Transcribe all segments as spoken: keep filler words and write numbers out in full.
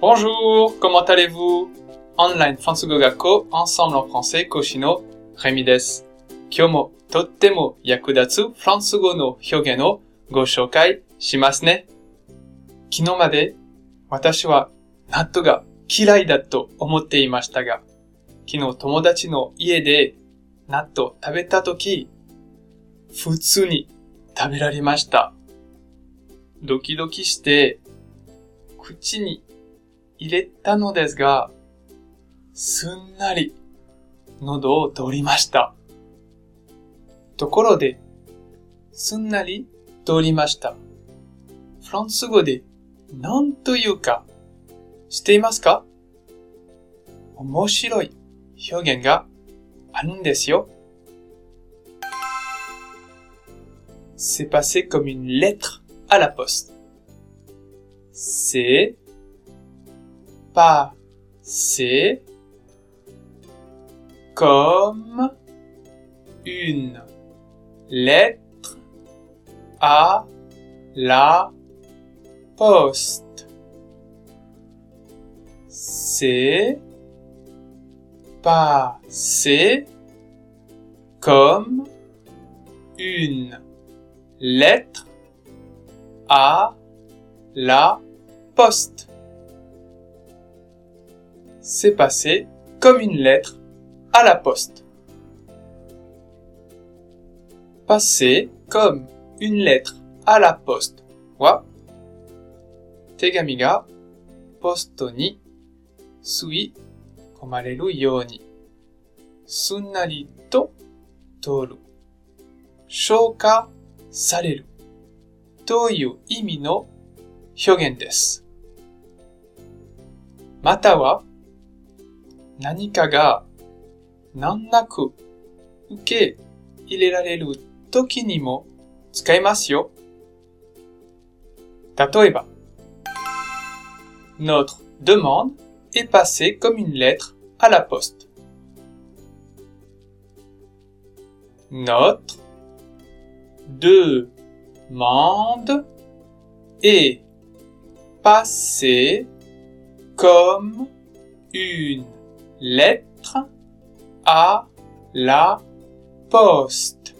Bonjour, comment allez-vous? Online フランス語学校 Ensemble en français 講師のレミです。今日もとっても役立つフランス語の表現をご紹介しますね。昨日まで私は納豆が嫌いだと思っていましたが、昨日友達の家で納豆を食べたとき、普通に食べられました。ドキドキして口に入れたのですが、すんなり喉を通りました。ところで、すんなり通りました。フランス語で何というか知っていますか？面白い表現があるんですよ。C'est passé comme une lettre à la poste. C'est passé comme une lettre à la poste. C'est passé comme une lettre à la poste. C'est passé comme une lettre à la poste. Passer comme une lettre à la poste は、手紙がポストに吸い込まれるように、すんなりと通る、消化されるという意味の表現です。または、何かが難なく受け入れられるときにも使いますよ。例えば、Notre demande est passée comme une lettre à la poste. Notre demande est passée comme une lettre à la poste.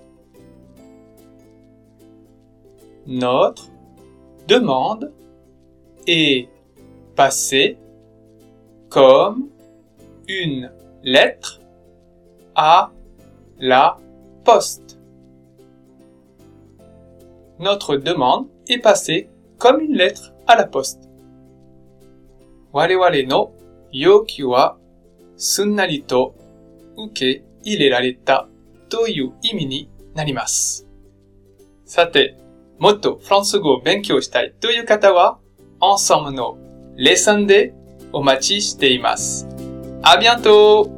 Notre demande est passée comme une lettre à la poste. Notre demande est passée comme une lettre à la poste. 我々の要求はすんなりと受け入れられたという意味になります。さて、もっとフランス語を勉強したいという方は、Ensembleのレッスンでお待ちしています。À bientôt!